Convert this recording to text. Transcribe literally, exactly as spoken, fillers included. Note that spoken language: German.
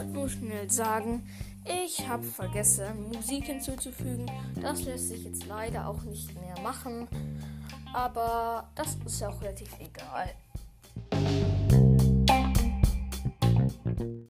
wollte nur schnell sagen, ich habe vergessen, Musik hinzuzufügen. Das lässt sich jetzt leider auch nicht mehr machen. Aber das ist ja auch relativ egal.